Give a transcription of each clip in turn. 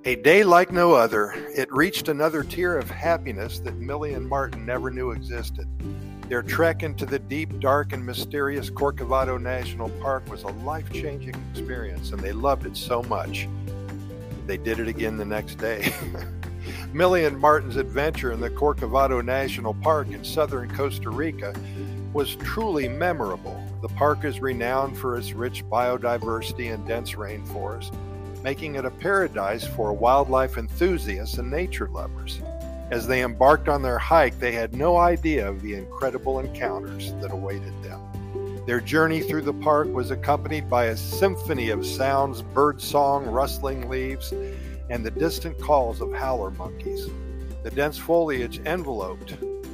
A day like no other, it reached another tier of happiness that Millie and Martin never knew existed. Their trek into the deep, dark, and mysterious Corcovado National Park was a life-changing experience, and they loved it so much. They did it again the next day. Millie and Martin's adventure in the Corcovado National Park in southern Costa Rica was truly memorable. The park is renowned for its rich biodiversity and dense rainforest, making it a paradise for wildlife enthusiasts and nature lovers. As they embarked on their hike, they had no idea of the incredible encounters that awaited them. Their journey through the park was accompanied by a symphony of sounds, birdsong, rustling leaves, and the distant calls of howler monkeys. The dense foliage enveloped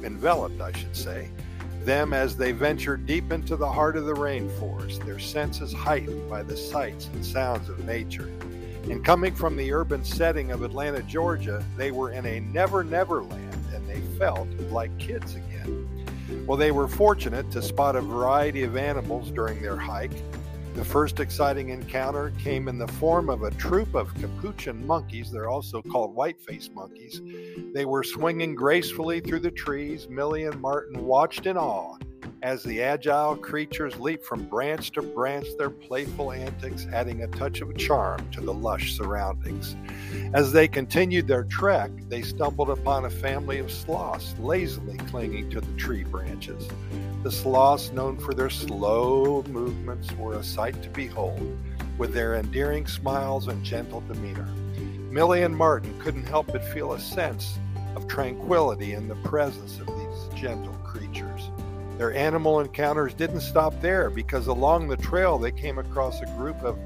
them as they ventured deep into the heart of the rainforest, their senses heightened by the sights and sounds of nature. And coming from the urban setting of Atlanta, Georgia, they were in a never land, and they felt like kids again. Well, they were fortunate to spot a variety of animals during their hike. The first exciting encounter came in the form of a troop of capuchin monkeys. They're also called white-faced monkeys. They were swinging gracefully through the trees. Millie and Martin watched in awe as the agile creatures leaped from branch to branch, their playful antics adding a touch of charm to the lush surroundings. As they continued their trek, they stumbled upon a family of sloths lazily clinging to the tree branches. The sloths, known for their slow movements, were a sight to behold, with their endearing smiles and gentle demeanor. Millie and Martin couldn't help but feel a sense of tranquility in the presence of these gentle creatures. Their animal encounters didn't stop there, because along the trail they came across a group of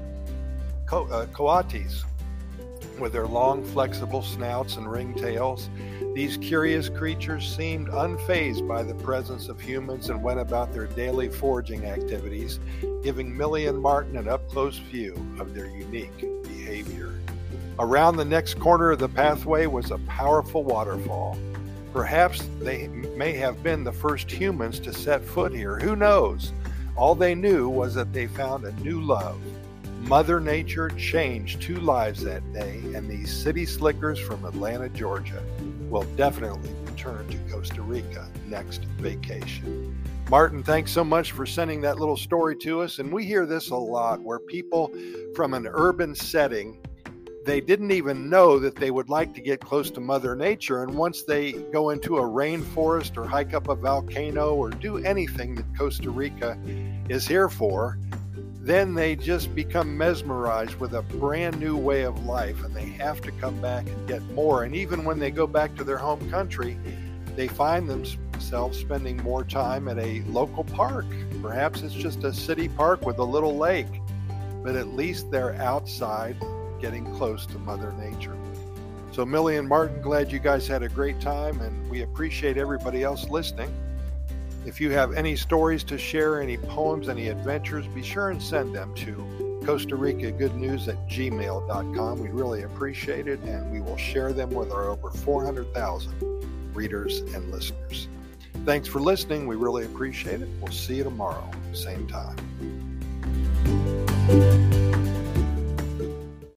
coatis with their long, flexible snouts and ringtails. These curious creatures seemed unfazed by the presence of humans and went about their daily foraging activities, giving Millie and Martin an up-close view of their unique behavior. Around the next corner of the pathway was a powerful waterfall. Perhaps they may have been the first humans to set foot here. Who knows? All they knew was that they found a new love. Mother Nature changed 2 lives that day, and these city slickers from Atlanta, Georgia will definitely return to Costa Rica next vacation. Martin, thanks so much for sending that little story to us. And we hear this a lot, where people from an urban setting, they didn't even know that they would like to get close to Mother Nature. And once they go into a rainforest or hike up a volcano or do anything that Costa Rica is here for, then they just become mesmerized with a brand new way of life, and they have to come back and get more. And even when they go back to their home country, they find themselves spending more time at a local park. Perhaps it's just a city park with a little lake, but at least they're outside getting close to Mother Nature. So Millie and Martin, glad you guys had a great time, and we appreciate everybody else listening. If you have any stories to share, any poems, any adventures, be sure and send them to Costa Rica Good News at gmail.com. We'd really appreciate it, and we will share them with our over 400,000 readers and listeners. Thanks for listening. We really appreciate it. We'll see you tomorrow, same time.